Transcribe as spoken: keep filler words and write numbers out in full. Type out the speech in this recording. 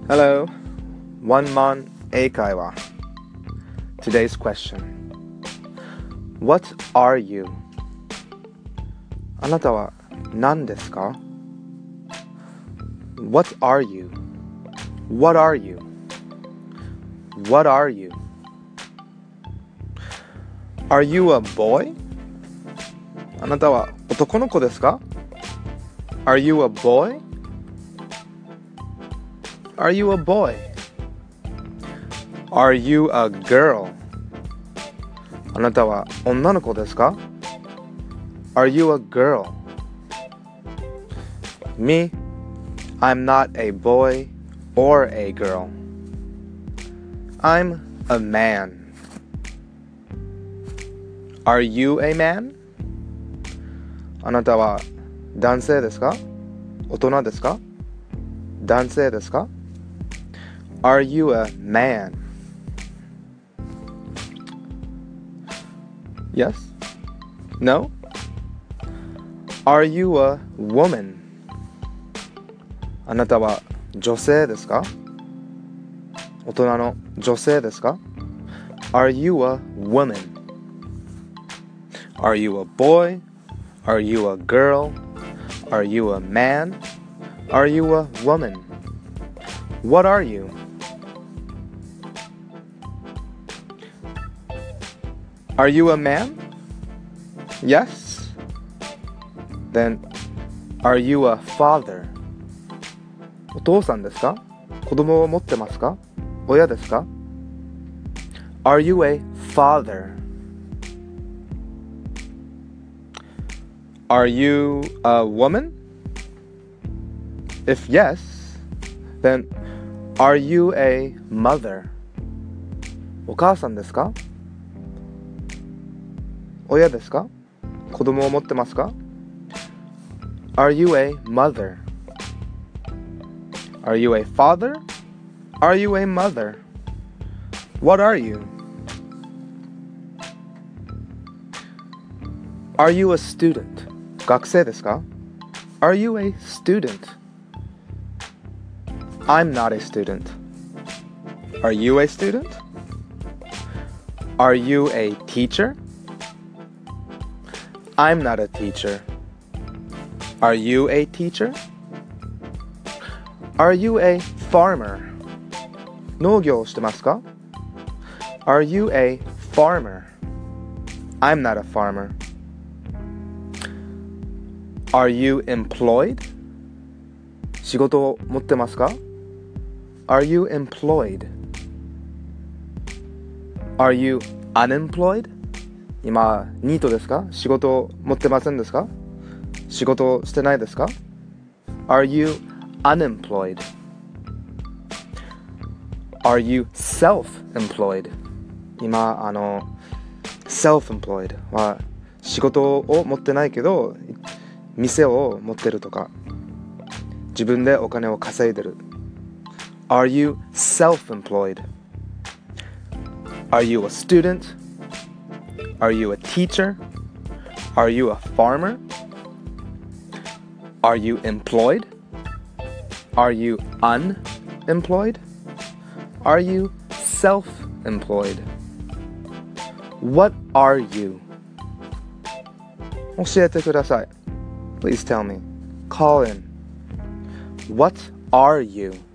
Hello, One Man 英会話 Today's question What are you? あなたは何ですか What are you? What are you? What are you? Are you a boy? あなたは男の子ですか Are you a boy?Are you a boy? Are you a girl? あなたは女の子ですか Are you a girl? Me, I'm not a boy or a girl. I'm a man. Are you a man? あなたは男性ですか大人ですか男性ですかAre you a man? Yes? No? Are you a woman? あなたは女性ですか大人の女性ですか Are you a woman? Are you a boy? Are you a girl? Are you a man? Are you a woman? What are you?Are you a man? Yes? Then, are you a father? お父さんですか子供を持ってますか親ですか Are you a father? Are you a woman? If yes, then, are you a mother? お母さんですか親ですか子供を持ってますか Are you a mother? Are you a father? Are you a mother? What are you? Are you a student? 学生ですか Are you a student? I'm not a student. Are you a student? Are you a teacher?I'm not a teacher. Are you a teacher? Are you a farmer? 農業をしてますか Are you a farmer? I'm not a farmer. Are you employed? 仕事を持ってますか Are you employed? Are you unemployed?今、ニートですか仕事を持ってませんですか仕事をしてないですか Are you unemployed? Are you self-employed? 今、あの、self-employed は仕事を持ってないけど、店を持ってるとか、自分でお金を稼いでる。Are you self-employed? Are you a student?Are you a teacher? Are you a farmer? Are you employed? Are you unemployed? Are you self-employed? What are you? 教えてください。Please tell me. Call in. What are you?